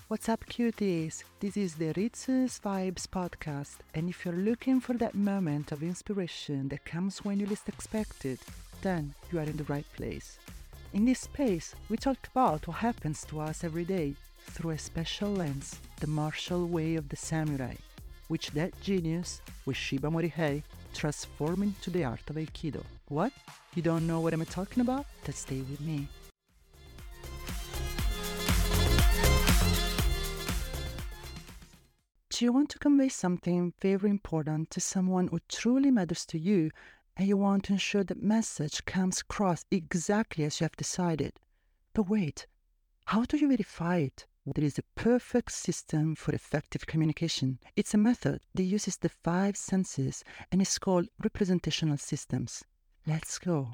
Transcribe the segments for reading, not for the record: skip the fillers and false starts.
What's up, cuties? This is the Ritzus Vibes podcast, and if you're looking for that moment of inspiration that comes when you least expect it, then you are in the right place. In this space, we talk about what happens to us every day through a special lens, the martial way of the samurai, which that genius, Ueshiba Morihei, transformed into the art of Aikido. What? You don't know what I'm talking about? Then stay with me. Do you want to convey something very important to someone who truly matters to you, and you want to ensure that message comes across exactly as you have decided? But wait, how do you verify it? There is a perfect system for effective communication. It's a method that uses the 5 senses and is called representational systems. Let's go.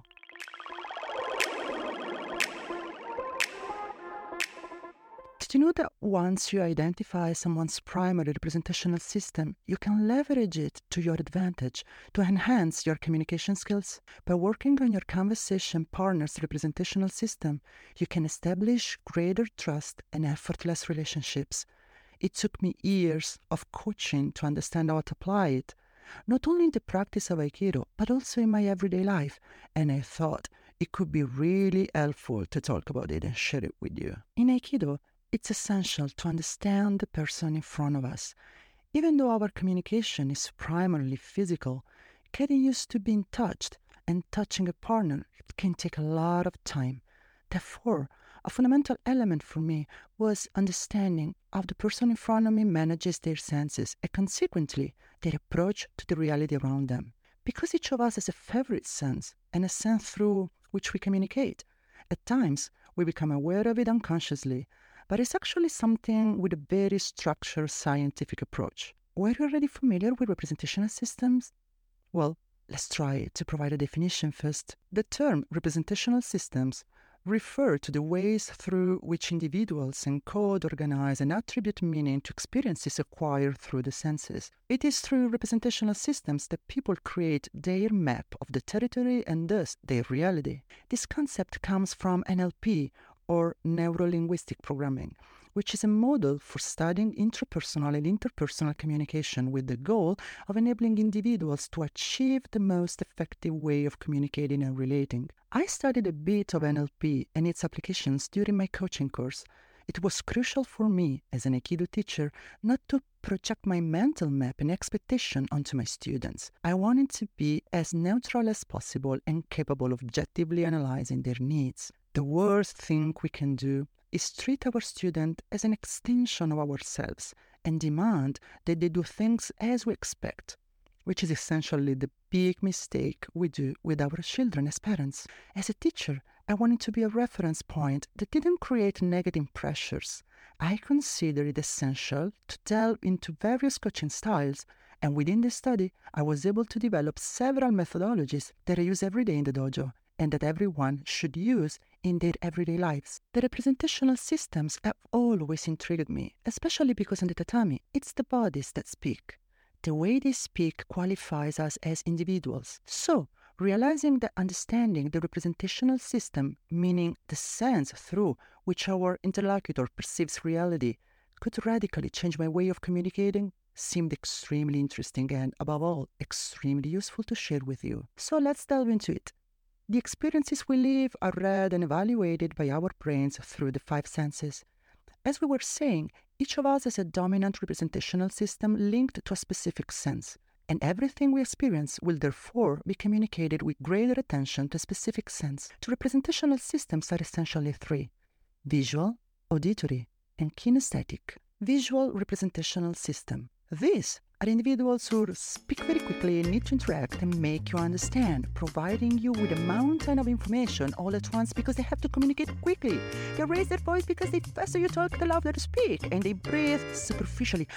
Did you know that once you identify someone's primary representational system, you can leverage it to your advantage to enhance your communication skills? By working on your conversation partner's representational system, you can establish greater trust and effortless relationships. It took me years of coaching to understand how to apply it, not only in the practice of Aikido, but also in my everyday life, and I thought it could be really helpful to talk about it and share it with you. In Aikido, it's essential to understand the person in front of us. Even though our communication is primarily physical, getting used to being touched and touching a partner can take a lot of time. Therefore, a fundamental element for me was understanding how the person in front of me manages their senses and consequently their approach to the reality around them. Because each of us has a favorite sense and a sense through which we communicate. At times, we become aware of it unconsciously, but it's actually something with a very structured scientific approach. Were you already familiar with representational systems? Well, let's try to provide a definition first. The term representational systems refer to the ways through which individuals encode, organize, and attribute meaning to experiences acquired through the senses. It is through representational systems that people create their map of the territory and thus their reality. This concept comes from NLP, or Neuro-Linguistic Programming, which is a model for studying intrapersonal and interpersonal communication with the goal of enabling individuals to achieve the most effective way of communicating and relating. I studied a bit of NLP and its applications during my coaching course. It was crucial for me, as an Aikido teacher, not to project my mental map and expectation onto my students. I wanted to be as neutral as possible and capable of objectively analyzing their needs. The worst thing we can do is treat our student as an extension of ourselves and demand that they do things as we expect, which is essentially the big mistake we do with our children as parents. As a teacher, I wanted to be a reference point that didn't create negative pressures. I consider it essential to delve into various coaching styles, and within this study, I was able to develop several methodologies that I use every day in the dojo and that everyone should use in their everyday lives. The representational systems have always intrigued me, especially because in the tatami, it's the bodies that speak. The way they speak qualifies us as individuals. So, realizing that understanding the representational system, meaning the sense through which our interlocutor perceives reality, could radically change my way of communicating, seemed extremely interesting and, above all, extremely useful to share with you. So let's delve into it. The experiences we live are read and evaluated by our brains through the 5 senses. As we were saying, each of us has a dominant representational system linked to a specific sense, and everything we experience will therefore be communicated with greater attention to a specific sense. The representational systems are essentially 3: visual, auditory, and kinesthetic. Visual representational system. These are individuals who speak very quickly and need to interact and make you understand, providing you with a mountain of information all at once because they have to communicate quickly. They raise their voice because the faster you talk, the louder you speak, and they breathe superficially,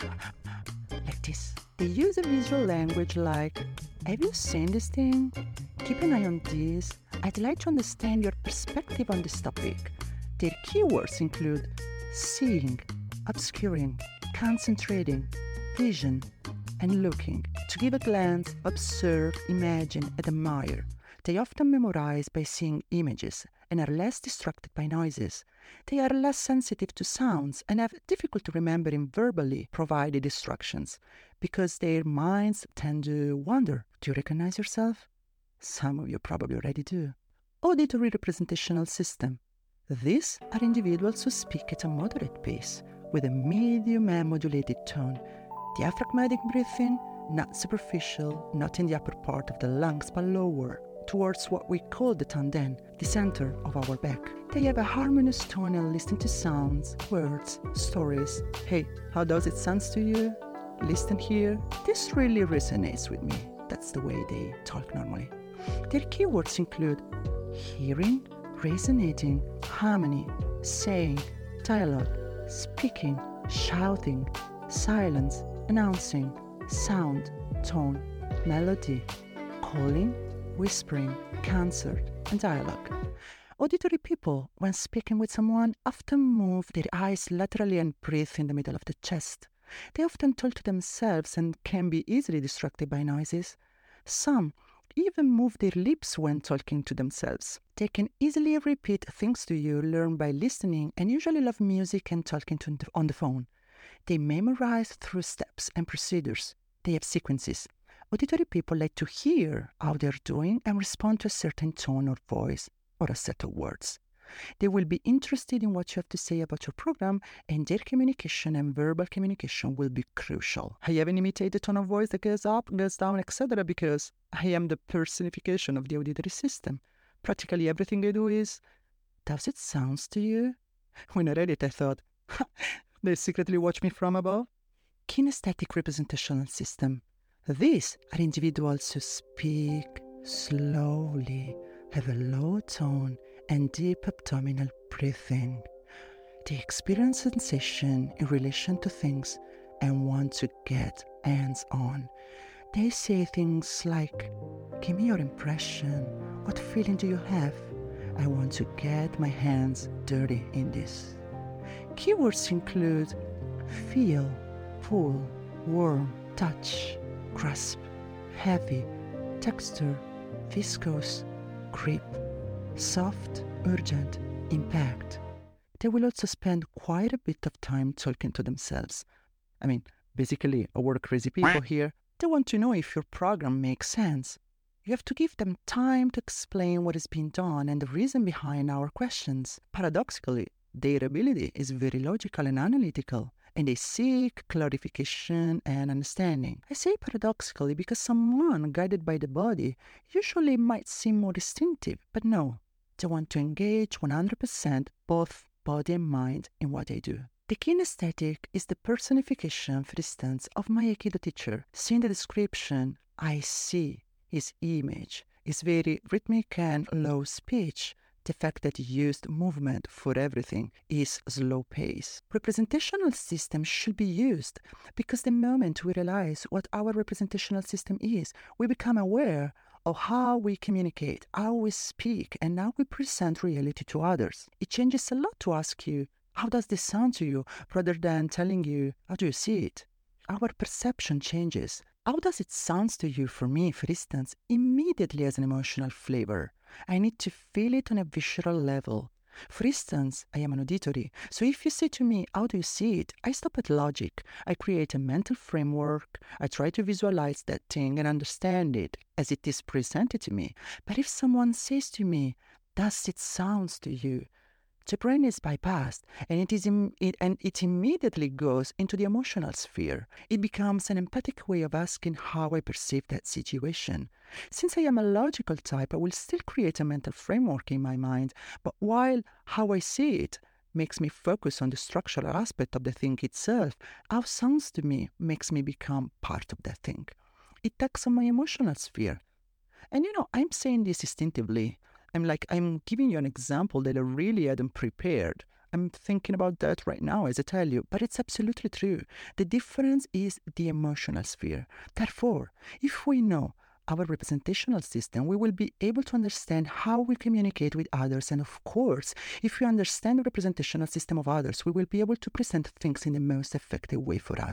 like this. They use a visual language like, "Have you seen this thing? Keep an eye on this. I'd like to understand your perspective on this topic." Their keywords include seeing, obscuring, concentrating, vision, and looking. To give a glance, observe, imagine, and admire. They often memorize by seeing images and are less distracted by noises. They are less sensitive to sounds and have difficulty remembering verbally provided instructions because their minds tend to wander. Do you recognize yourself? Some of you probably already do. Auditory representational system. These are individuals who speak at a moderate pace with a medium and modulated tone. Diaphragmatic breathing, not superficial, not in the upper part of the lungs, but lower, towards what we call the tanden, the center of our back. They have a harmonious tone and listen to sounds, words, stories. Hey, how does it sound to you? Listen here. This really resonates with me. That's the way they talk normally. Their keywords include hearing, resonating, harmony, saying, dialogue, speaking, shouting, silence, announcing, sound, tone, melody, calling, whispering, concert, and dialogue. Auditory people, when speaking with someone, often move their eyes laterally and breathe in the middle of the chest. They often talk to themselves and can be easily distracted by noises. Some even move their lips when talking to themselves. They can easily repeat things to you learned by listening and usually love music and talking on the phone. They memorize through steps and procedures. They have sequences. Auditory people like to hear how they're doing and respond to a certain tone or voice or a set of words. They will be interested in what you have to say about your program, and their communication and verbal communication will be crucial. I haven't imitated the tone of voice that goes up, goes down, etc. because I am the personification of the auditory system. Practically everything I do is, does it sound to you? When I read it, I thought, they secretly watch me from above. Kinesthetic representational system. These are individuals who speak slowly, have a low tone, and deep abdominal breathing. They experience sensation in relation to things and want to get hands-on. They say things like, give me your impression. What feeling do you have? I want to get my hands dirty in this. Keywords include feel, pull, warm, touch, grasp, heavy, texture, viscous, grip, soft, urgent, impact. They will also spend quite a bit of time talking to themselves. Basically, our crazy people here, they want to know if your program makes sense. You have to give them time to explain what is being done and the reason behind our questions. Paradoxically, their ability is very logical and analytical, and they seek clarification and understanding. I say paradoxically because someone guided by the body usually might seem more distinctive, but no. They want to engage 100% both body and mind in what they do. The kinesthetic is the personification, for instance, of my Aikido teacher. Seeing the description, I see his image, his very rhythmic and low speech. The fact that he used movement for everything is slow pace. Representational system should be used because the moment we realize what our representational system is, we become aware of how we communicate, how we speak, and how we present reality to others. It changes a lot to ask you, how does this sound to you, rather than telling you, how do you see it? Our perception changes. How does it sound to you? For me, for instance, immediately has an emotional flavor. I need to feel it on a visceral level. For instance, I am an auditory, so if you say to me, how do you see it? I stop at logic. I create a mental framework. I try to visualize that thing and understand it as it is presented to me. But if someone says to me, does it sound to you? The brain is bypassed, and it immediately goes into the emotional sphere. It becomes an empathic way of asking how I perceive that situation. Since I am a logical type, I will still create a mental framework in my mind, but while how I see it makes me focus on the structural aspect of the thing itself, how it sounds to me makes me become part of that thing. It acts on my emotional sphere. And I'm saying this instinctively. I'm giving you an example that I really hadn't prepared. I'm thinking about that right now as I tell you, but it's absolutely true. The difference is the emotional sphere. Therefore, if we know our representational system, we will be able to understand how we communicate with others. And of course, if we understand the representational system of others, we will be able to present things in the most effective way for us.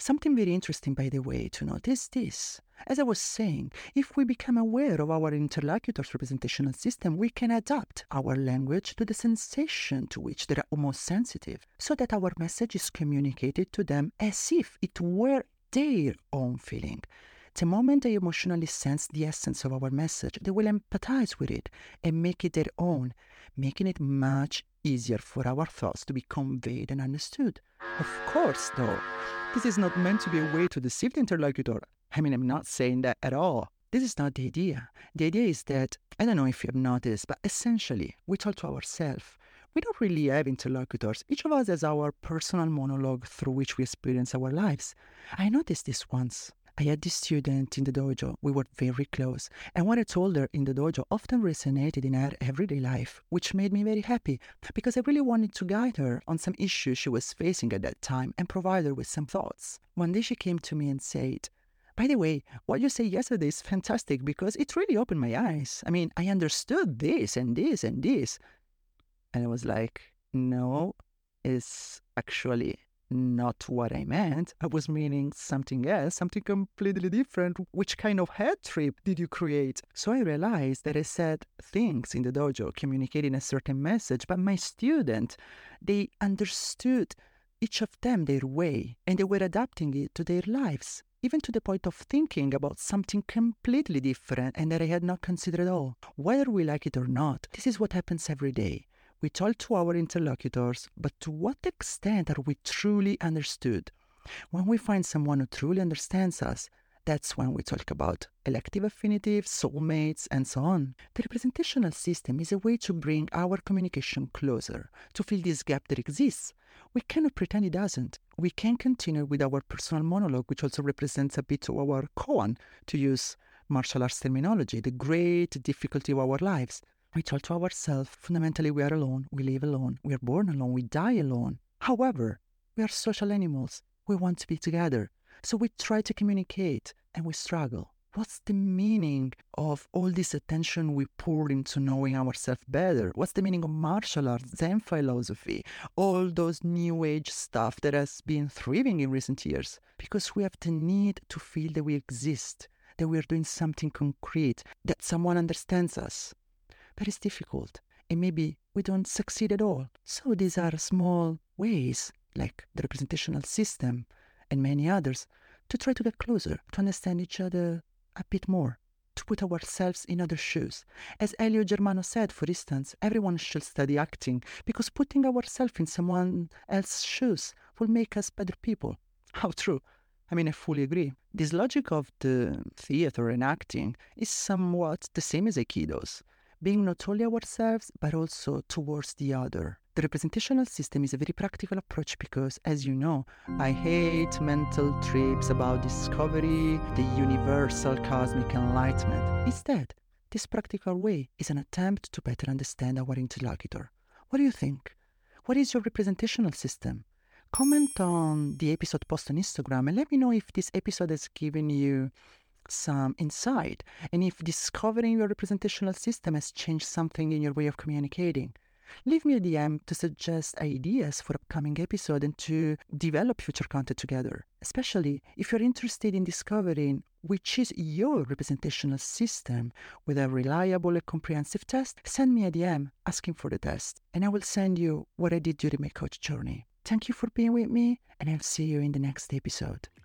Something very interesting, by the way, to notice this. As I was saying, if we become aware of our interlocutor's representational system, we can adapt our language to the sensation to which they are most sensitive, so that our message is communicated to them as if it were their own feeling. The moment they emotionally sense the essence of our message, they will empathize with it and make it their own, making it much easier for our thoughts to be conveyed and understood. Of course, though, this is not meant to be a way to deceive the interlocutor. I mean, I'm not saying that at all. This is not the idea. The idea is that, I don't know if you have noticed, but essentially, we talk to ourselves. We don't really have interlocutors. Each of us has our personal monologue through which we experience our lives. I noticed this once. I had this student in the dojo. We were very close. And what I told her in the dojo often resonated in her everyday life, which made me very happy because I really wanted to guide her on some issues she was facing at that time and provide her with some thoughts. One day she came to me and said, "By the way, what you said yesterday is fantastic because it really opened my eyes. I mean, I understood this and this and this." And I was like, no, it's actually not what I meant. I was meaning something else, something completely different. Which kind of head trip did you create? So I realized that I said things in the dojo communicating a certain message, but my student, they understood each of them their way, and they were adapting it to their lives, even to the point of thinking about something completely different and that I had not considered at all. Whether we like it or not, this is what happens every day. We talk to our interlocutors, but to what extent are we truly understood? When we find someone who truly understands us, that's when we talk about elective affinities, soulmates, and so on. The representational system is a way to bring our communication closer, to fill this gap that exists. We cannot pretend it doesn't. We can continue with our personal monologue, which also represents a bit of our koan, to use martial arts terminology, the great difficulty of our lives. We talk to ourselves. Fundamentally, we are alone, we live alone, we are born alone, we die alone. However, we are social animals. We want to be together. So we try to communicate and we struggle. What's the meaning of all this attention we pour into knowing ourselves better? What's the meaning of martial arts, Zen philosophy, all those new age stuff that has been thriving in recent years? Because we have the need to feel that we exist, that we are doing something concrete, that someone understands us. But it's difficult, and maybe we don't succeed at all. So these are small ways, like the representational system and many others, to try to get closer, to understand each other a bit more, to put ourselves in other shoes. As Elio Germano said, for instance, everyone should study acting because putting ourselves in someone else's shoes will make us better people. How true. I mean, I fully agree. This logic of the theater and acting is somewhat the same as Aikido's, being not only ourselves, but also towards the other. The representational system is a very practical approach because, as you know, I hate mental trips about discovery, the universal cosmic enlightenment. Instead, this practical way is an attempt to better understand our interlocutor. What do you think? What is your representational system? Comment on the episode post on Instagram and let me know if this episode has given you some insight and if discovering your representational system has changed something in your way of communicating. Leave me a DM to suggest ideas for upcoming episodes and to develop future content together. Especially if you're interested in discovering which is your representational system with a reliable and comprehensive test, send me a DM asking for the test and I will send you what I did during my coach journey. Thank you for being with me and I'll see you in the next episode.